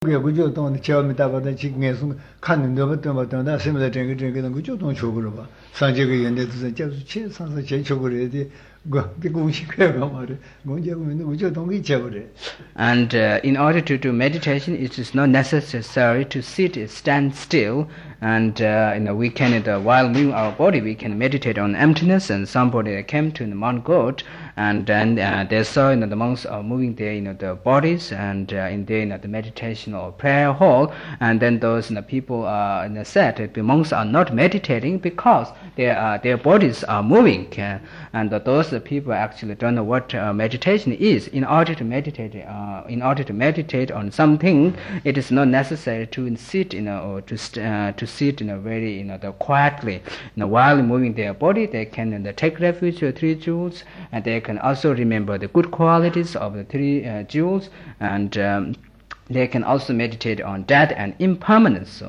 그저 돈 처음에 다바다 지금에서看的不但现在这个就东求过了吧上这个原来是就是去上是去求过来的我这个东西干嘛的我这个就东给接过来 And in order to do meditation, it is not necessary to stand still, and we can, while moving our body, we can meditate on emptiness. And somebody came to the Mount God, and then they saw the monks are moving their the bodies, and in their the meditation or prayer hall, and then those people said that the monks are not meditating because their bodies are moving, and those people actually don't know what meditation is. In order to meditate on something, it is not necessary to sit or to sit very quietly. While moving their body, they can take refuge to three jewels, and they can also remember the good qualities of the three jewels, and they can also meditate on death and impermanence.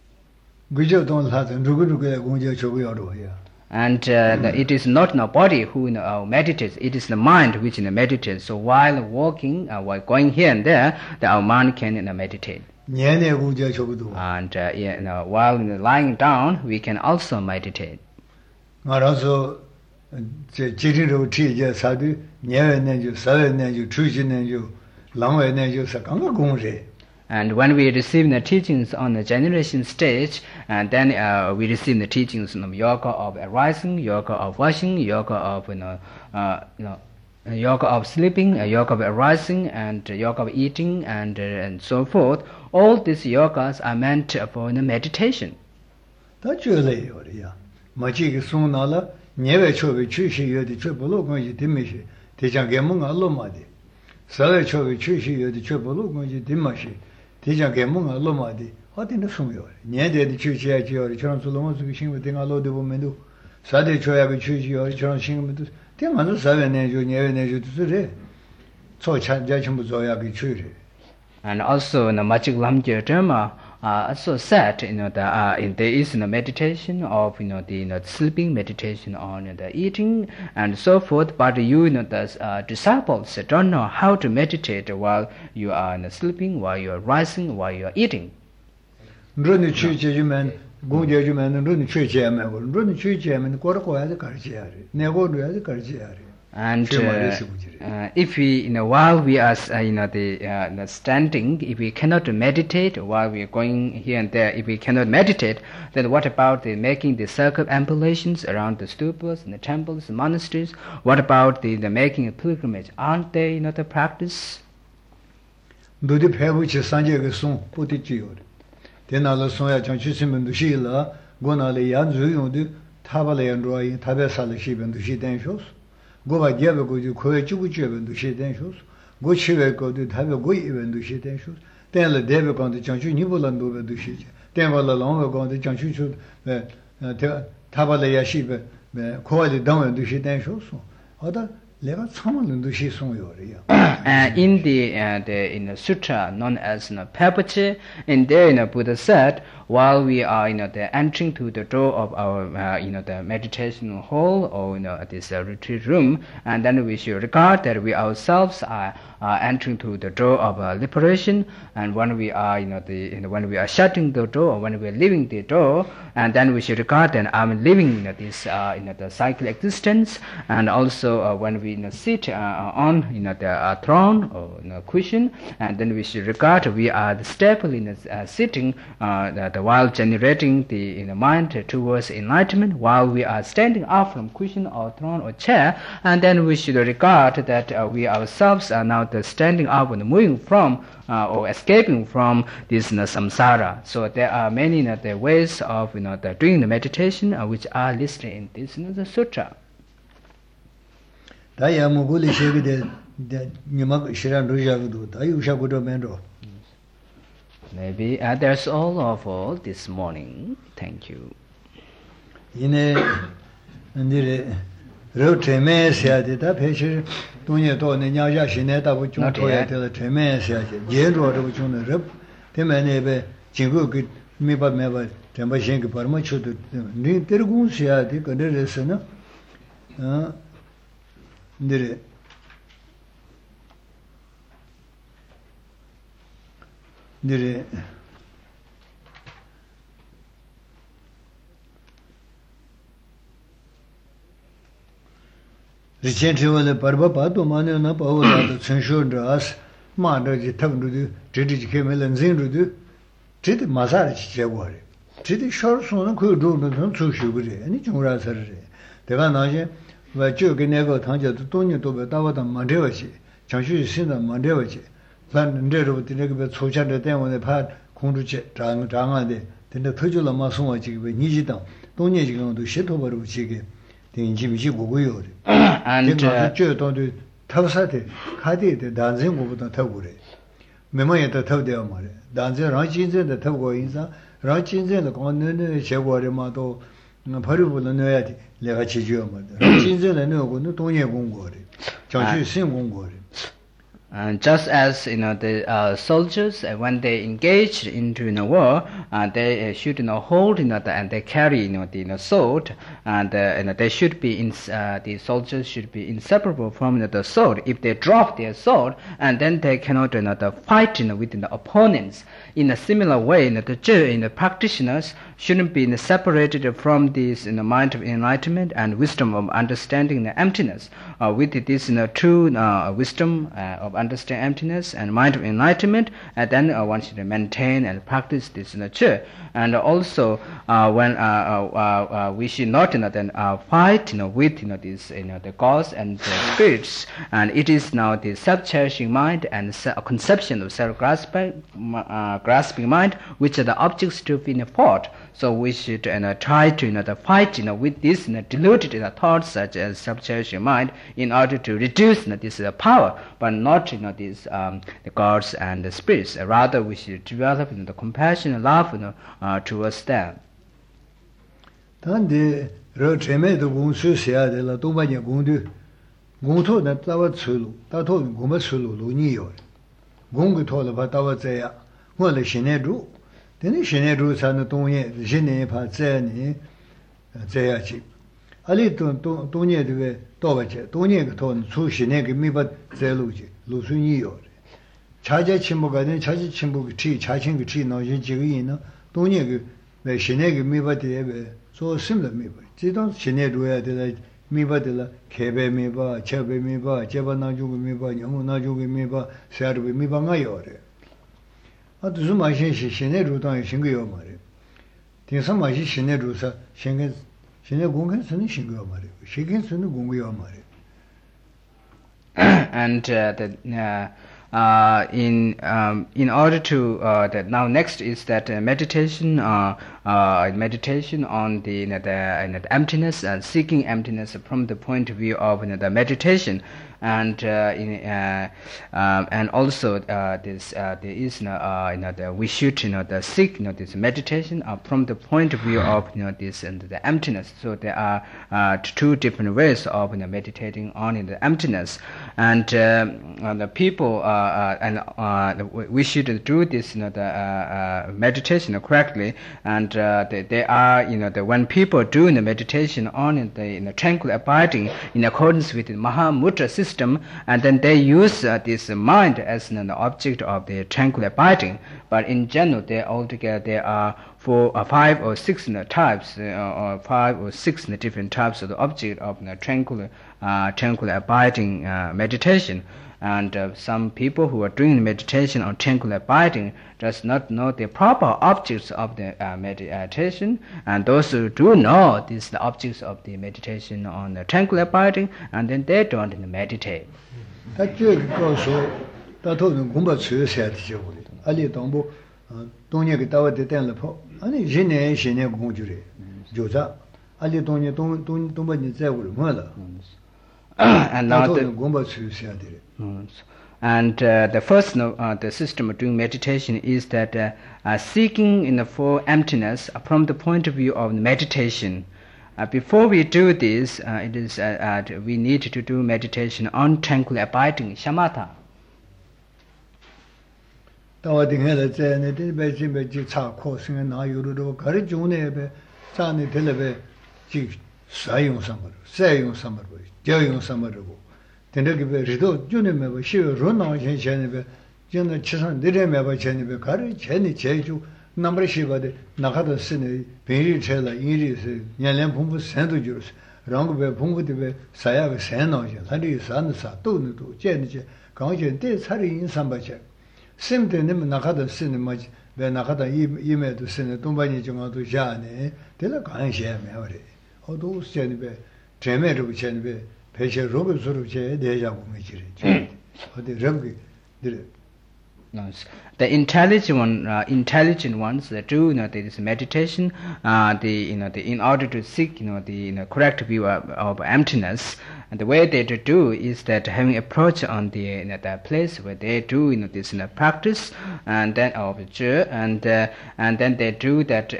And it is not the body who meditates, it is the mind which meditates. So while walking, while going here and there, our mind can meditate. And while lying down, we can also meditate. And when we receive the teachings on the generation stage, and then we receive the teachings on yoga of arising, yoga of washing, yoga of yoga of sleeping, yoga of arising, and yoga of eating, and so forth. All these yogas are meant for the meditation. And also in the Magic Lamgir Dharma also said that there is a meditation of the sleeping, meditation on the eating and so forth, but the disciples don't know how to meditate while you are sleeping, while you are rising, while you are eating. And if we, while we are, the standing, if we cannot meditate while we are going here and there, if we cannot meditate, then what about the making the circumambulations around the stupas and the temples, the monasteries? What about the making a pilgrimage? Aren't they the practice? Go diabo go ju ko chu chu ben du she den shos go chive go du tabe go ben du she den shos den le debe go de chang chu ni bo lan do be du she den ba la long go de chang chu chu ta ba le ya shi be ko le dang ben du she den shos oda le가 참을 du she song yo re in the sutra known as Papache, in there Buddha said, while we are entering to the door of our the meditation hall or this retreat room, and then we should regard that we ourselves are entering to the door of liberation, and when we are when we are shutting the door or when we are leaving the door, and then we should regard that I'm living this the cycle existence, and also when we sit on the throne or cushion, and then we should regard we are the stable sitting while generating the mind towards enlightenment, while we are standing up from cushion or throne or chair, and then we should regard that we ourselves are now standing up and moving from or escaping from this samsara. So there are many the ways of doing the meditation which are listed in this the sutra. Maybe that's all this morning. Thank you. dire Recently, Parba Pato Manana Paola, Sensor Dras, Manda, Tamu, Titi Camel and Zindu, Titi Mazar Chewari. Titi short son could do the Sushi, and each more Saturday. The Vanaja, where Joganego Tanja to Tony to Betava and Mandevachi, Chanshu Sinda Mandevachi, Plan and Dead of the Negabet Socha the Dam on the pad, Kunduche, Tanga, then the Tujula Masuachi with Nijita, Tony going to shit over Chigi. And Tavsate, Kadi, the dancing over the Tavure. Memory the Tavdamare, dancing Rajins and the Tavoinza, Rajins and the Conan, Chewari Mato, Paribu Noyati, Levachioma, Rajins and no Tonya Gungori, Chanchu Sim Gungori. And just as the soldiers, when they engage into war, they should hold and they carry the sword, and they should be the soldiers should be inseparable from the sword. If they drop their sword, and then they cannot fight with the opponents. In a similar way, the practitioners shouldn't be separated from this mind of enlightenment and wisdom of understanding the emptiness. With this true wisdom of understand emptiness and mind of enlightenment, and then one should maintain and practice this nature. And also when we should not then fight with this the gods and the spirits, and it is now the self-cherishing mind and conception of self-grasping mind which are the objects to be fought. So we should try to fight with this deluded thoughts such as self-cherishing mind in order to reduce this power, but not these the gods and the spirits. Rather, we should develop the compassion and love towards them. Tande rocheme de gunsu sia de la tubanya gundu gunto na tawa tsulu ta to gumba tsulu lu ni yo gungu to la ba tawa zaya ngo le shine du deni shine du sa na tongye shine pa zaya ni zaya chi ali tongye de to ba che tongye ge to su shine ge mi ba zaya lu ji lu su ni yo chaja chimbo ga ne chaji chimbo ge chi cha chen ge chi no ji ji ge yin na tongye ge me shine ge mi ba de be so similar me ba ji dong shine du ya de la mi ba de la kebe mi ba chebe mi ba cheba na ju ge mi ba nyamu na ju ge mi ba sar be mi ba nga yo re a tu ma shin shi shine du dang shin ge yo ma re tin sa ma shi shine du sa shin ge shine gong gen sun shin ge yo ma re shi gen sun gong ge yo ma re. And in order to that now next is that meditation meditation on the emptiness and seeking emptiness from the point of view of the meditation, and also this there is we should seek this meditation from the point of view of this and the emptiness. So there are two different ways of meditating on the emptiness, and the people we should do this the meditation correctly, and they are when people do the meditation on the tranquil abiding in accordance with the Mahamudra system, and then they use this mind as the object of the tranquil abiding. But in general, there are 4 or 5 or 6 types, or 5 or 6 different types of the object of the tranquil abiding meditation. And some people who are doing meditation on tranquil abiding does not know the proper objects of the meditation, and those who do know these the objects of the meditation on the tranquil abiding, and then they don't meditate. And now the first the system of doing meditation is that seeking for emptiness from the point of view of meditation. Before we do this, it is we need to do meditation on tranquil abiding, shamatha. 저는 치산 내려매봐 전에 가르 전에 제주 남르시바데 나가다 쓰네 베리 체라 이리스 년년 공부 선도 주스 랑고베 공부데 사야가 선노죠 다리 산사 또는도 제니제 강제 살이 인삼바체 샘데는 나가다 쓰네 뭐지 왜 나가다 이메도 쓰네 동반이 정도 자네 내가 관심이 어리 어도 쓰네베 제메르 제네베 배셔 로그스로 제 내자고 미지리 어디 럼기 들 Yes. The intelligent ones that do this meditation, in order to seek the correct view of emptiness, and the way they do is that having approach on the place where they do this practice, and then observe, and then they do that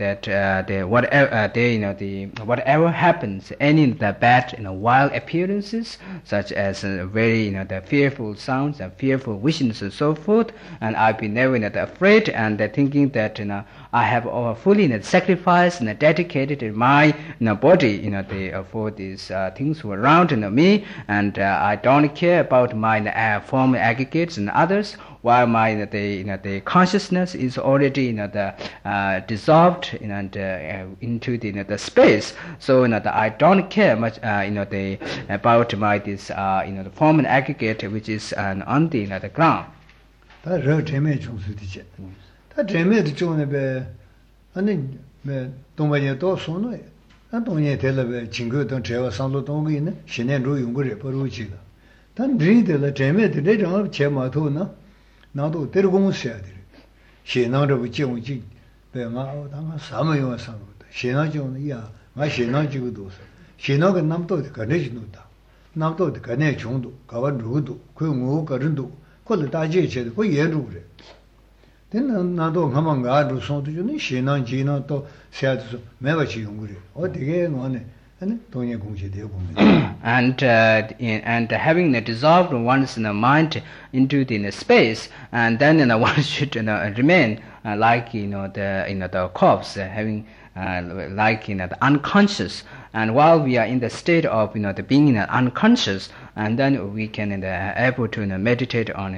whatever happens, any the bad wild appearances, such as very the fearful sounds and fearful visions and so forth. And I've been never afraid, and thinking that I have fully sacrificed and dedicated my body for these things who are around me, and I don't care about my form aggregates and others, while my the consciousness is already dissolved into the space. So I don't care much about my this the form and aggregate which is on the ground. 다 저점에 중수되지. 다 점에도 중에 아니 동반에 또 손에 난 동에 될래 친구도 제가 상도 동의네 신년로 용거를 버루지다. 단 리들의 점에도 내가 제마도나 나도 데려공셔야 돼. 신나로 부지용지 배마 당한 사모요 사모다. 신나죠야 마 신나지고도 신나가 남도 가내지노다. 남도 가내 중도 가와 누구도 그 뭐가른도 콜 다제체도 그 예루래. 되는 나도 가만 가도 손도 주는 신앙지나 또 세아도 매바치 용구래. 어디게 뭐네. 아니 동예 공시되고 보면. And having dissolved one's mind into the space, and then one should remain like the corpse, having like the unconscious. And while we are in the state of the being unconscious, and then we can able to meditate on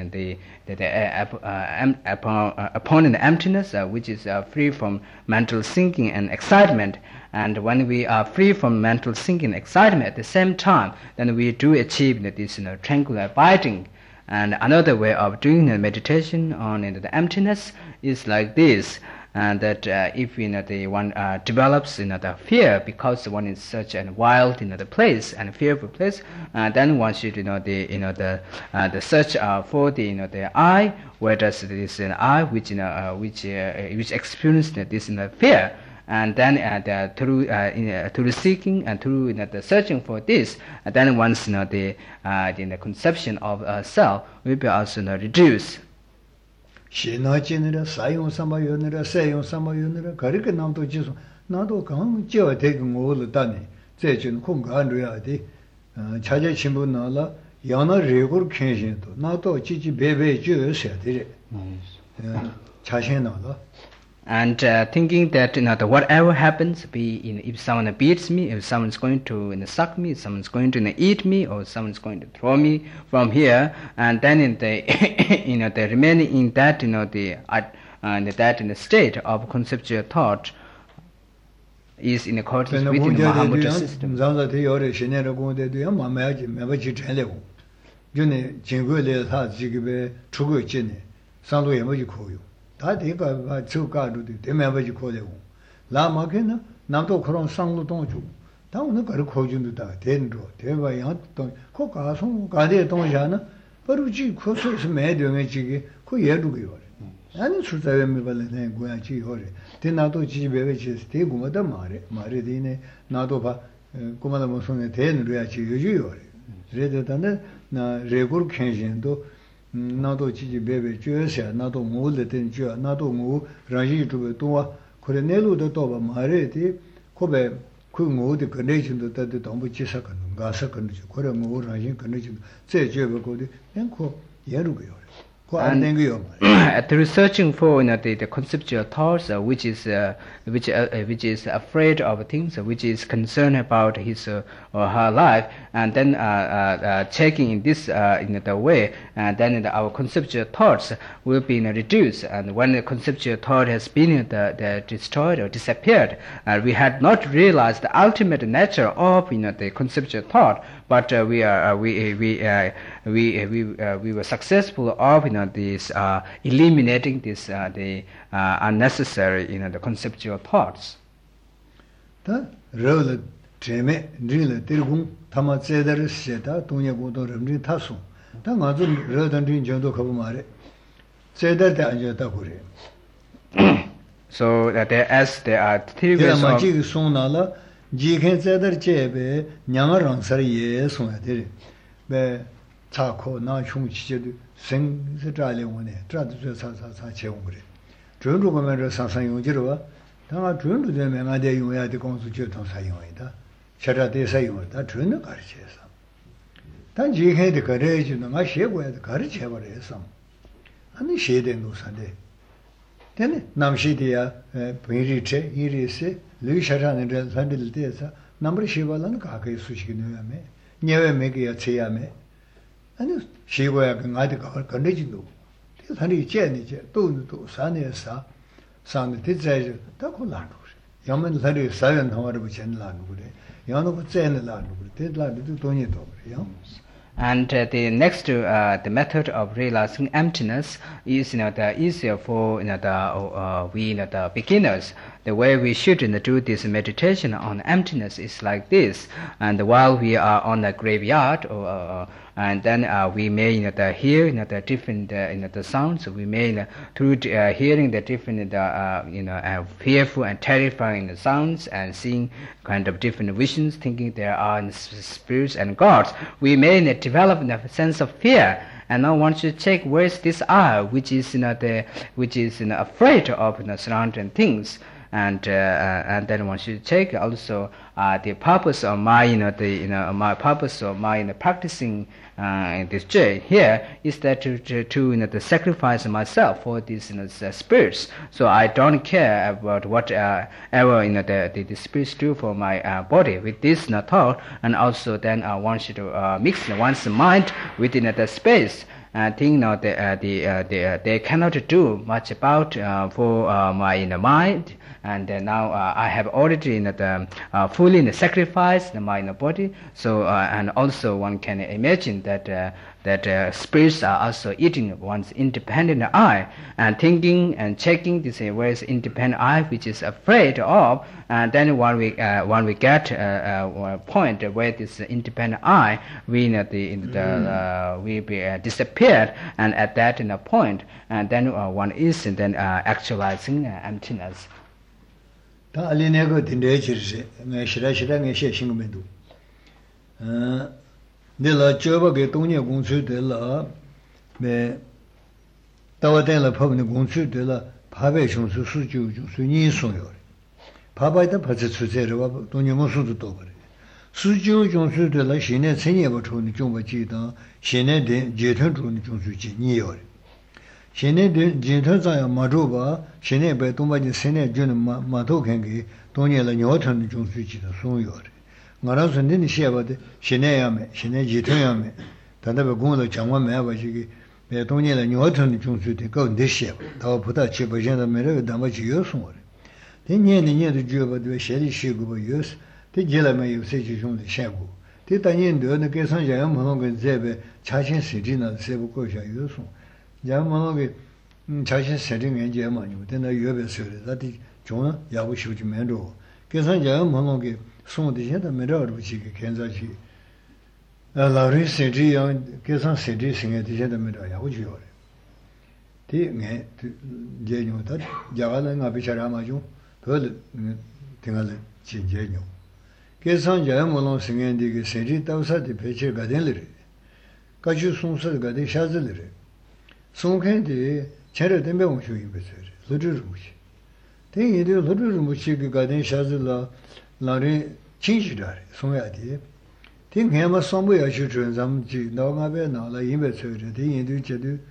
upon the emptiness, which is free from mental thinking and excitement. And when we are free from mental thinking and excitement at the same time, then we do achieve this tranquil abiding. And another way of doing the meditation on the emptiness is like this. And that if one develops the fear because one is such a wild the place and fearful place, then one should the search for the I, where does this I which experienced this fear, and then through seeking and through the searching for this, then once the conception of self will be also reduced. 신나지느라 사용 삼아요느라 세용 삼아요느라 가르게 남도 지소 나도 강 지어 되고 뭐를 제준 공간으로야 돼 자제 친구 나라 연어 레고를 캔신도 나도 지지 베베 주셔야 돼 자신 나라. And thinking that whatever happens, if someone beats me, if someone's going to suck me, if someone's going to eat me, or someone's going to throw me from here, and then they remaining in that the state of conceptual thought is in accordance with the Mahamudra system. 다대가 저가도도 대매버지 고래고 라마게나 남도 그런 상로동주 다오는 거를 거준도다 된도 대바야 또 코가송 가대 동자나 버루지 코소스 매령에 지기 그 예루고요 아니 수자외미 발네 고야지 호래 대나도 지베베 지스 대고마다 말에 되네 나도 봐 고마다 무슨에 대는로야지 요주요 그래도다네 나 레고르 켄진도 나도 지지 베베 주여서 나도 모를 된 주, 나도 뭐 라지 주베 또와 그래 내로도 또 말해디 고베 그 모두 컨디션도 때도 너무 지사건 가서 건지 그래 뭐 라지 컨디션 제 주베 거기 앵코 예루고요. Through searching for the conceptual thoughts, which is afraid of things, which is concerned about his or her life, and then checking in this the way, then our conceptual thoughts will be reduced. And when the conceptual thought has been destroyed or disappeared, we had not realized the ultimate nature of the conceptual thought, but we were successful of this eliminating this the unnecessary the conceptual thoughts. Ta role treme ndrile tirgung tama ceder seta tunya godo remri tasu ta ngazu rodan din jodo khabu mare ceder ta anja ta kure. So that there are three ways of ji sunala ji khen ceder chebe nyanga rangsar ye sunya dire be cha kho na chung chi je 생 스트라리아 원에 트라드스 사사 체험을 전주 보면 상상 용지로 당아 전주 되면 아대 용해야 돼 공수 교통 사용이다 차라대 사용이다 전혀 가르쳐서 단 지해도 가르쳐주는 거 시고야도 가르쳐 버려서 아니 시대는 노산데 되네 남시디야 베리체 이리세 르샤라는 산들 때서 남을 시발은 가게 수식이 넣으면 녀외 매기야 체야매 아니 시고야 그 아직 건네진도 사람이 제니제 또도 산에서 산에 대자에 다 콜라는 거지 야만 사리 사연 하와를 붙여내라는 거래 야는 붙여내라는 거래 대라도 돈이 더 그래요. And the next the method of realizing emptiness is the easier for the beginners. The way we should do this meditation on emptiness is like this. And while we are on the graveyard, and then we may hear the different the sounds. We may through hearing the different fearful and terrifying sounds and seeing kind of different visions, thinking there are spirits and gods. We may develop a sense of fear. And now once you check where is this I, which is afraid of surrounding things. And then once you check also the purpose of my my purpose of my practicing this joy here is that to sacrifice myself for these spirits. So I don't care about whatever the spirits do for my body with this thought, and also then I want you to mix one's mind within the space. I think now they cannot do much about for my mind, and now I have already fully sacrificed my body. So and also one can imagine that spirits are also eating one's independent I, and thinking and checking this where's independent I which is afraid of, and then when we get a point where this independent I we be disappeared, and at that point, and then one is then actualizing emptiness. 다 알리네고 딘데지르세 네 시라시라 네 셰싱메도 내가 저버게 동네 공수들라 네 따와된라 법의 공수들라 밥의 중수 수주 수니소요 밥에다 받쳐 주세요 동네 무수도 또 그래 수주 중수들라 신의 천예버 초는 좀 지다 신의 제턴 중의 중수지 니요 신의 제턴자야 마조바 신의 배 동바지 신의 주는 마도겐게 동네라 녀턴 중수지도 소요 나라서 는 시야바데 신의야메 신의 제턴야메 단답에 공을 장관 매바지기 배 동네라 녀턴 중수데 거 내시야 더 보다 제버전의 매를 담아지 요소래 대년에도 주어바도 셰리 시고버 요스 대jelame 요새지 좀 샤고 대단년도 계산자야 뭐는 제베 자신 세진나 세부 거셔 요소 야만하게 자신 세진 연재 많이 되나 여배서를 다디 좀 야고 쉬우지면도 계산자야 뭐는 송대셔다 메러로 지게 괜찮지 라리 세지요 계산 세지 생에 되셔다 메러 야고 주요 대네 제ኞ다 자가는 아비차라마죠 더 등할 진제뇨 계산자야 뭐는 생에디게 세지 따우사디 배치 가된르 가주 송설 가데 샤즈르 송캔디 제를 된병 쇼인 베서르 루르무시 대이데 루르무시 가된 샤즈라 라리 진시다리 송야디 딩해마 송부야 주준 잠지 너가베 나라 임베서르 대이데 제도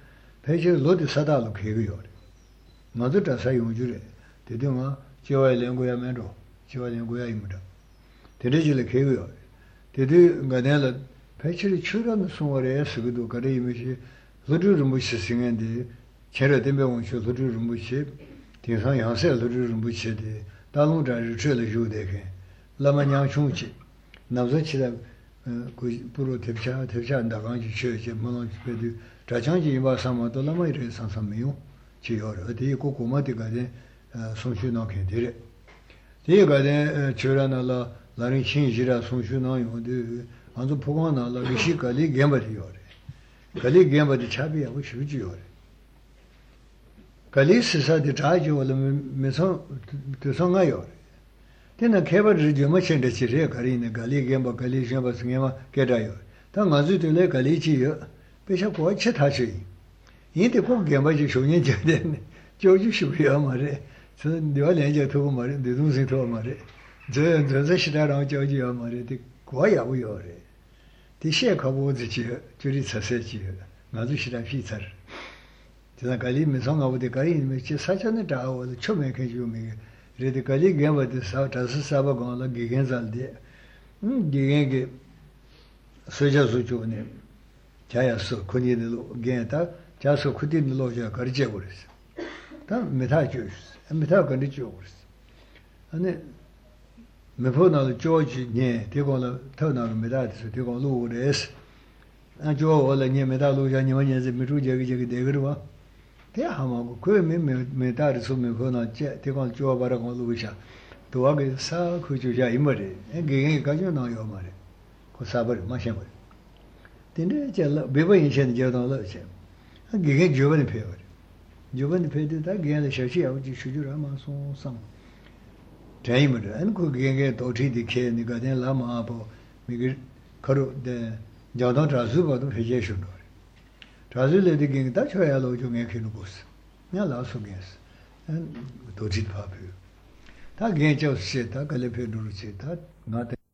페이지 로드 사다로 개고요. 나도 다 사용 줄에. 대동아 지와 연구야면로 지와 연구야입니다. 대대질에 개고요. 대대 가내라 페이지를 추라는 송월에 쓰기도 가리미시 로드를 무시 생인데 제가 대명원 쇼 로드를 무시 대상 양세 로드를 무시데 다롱자를 줄을 주되게 라마냥 중지 남자치다 그 부로 대표한다 간지 쉬어지 뭐는 배도 자장지 이바사마도 라마이를 상상매요 지요를 어디 고고마디가데 송슈나게 되래 대가데 저라나라 라린 신지라 송슈나요데 안도 보고나라 리시가리 gem바디요래 갈리 gem바디 차비하고 쉬지요래 갈리 스사디 자지올을 메서 드성아요 तेना केबर जो मछन रे छिरे करिने गली गेम गली जेम बसंगेमा केडायो ता गाजु तेले गली छियो पेशा को छ थाछि यते को गेम बजि शोने जदे जोजु शिबिया मारे स दिवा लेजे तो मारे देदु से तो मारे ज ज शिदा राव जोजि या मारे ते को या वो यो रे ति शे खबो जि जुरि छसे जि गाजु शिदा फिचर तेना गली में संग आवदे गली में छ साचने डाओ छोमे के जो में रेडिकली गेम बद साटास साबा गोला गिगेन जालदे गिगेन के सोजा सोचोने 자야서 코니들로 게다 자서 쿠디들로 저 거르제 버렸어. 다 메타 주스. 메타 건디 줘 버렸어. 아니 메포나도 조지 네 대고는 터나로 메다서 대고 로레스. 아 조올라 네 메다 로자 니원예즈 미루제 게 대거와. 대하마고 그 메다를 소면 거나 제 대고 줘 바라고 로자. 도와게 사 그주자 이 말이. 이게 가져 나요 말이. 그 사버리 마셔 버리. 근데 제가 배워 인생 저도로 제. 이게 저번에 배워. 저번에 배우다 걔는 셔시하고 주주라만 손상. 타임을 안 그게 도티디 케니가 된 라마보 미게 거로데 저도 자수바도 회제셔도. 자수레디 게다 쳐야로 중에 키는 곳. 내가 라소게스. 안 도티디 파비. 다 괜찮으시다. 갈레페 누르시다. 나한테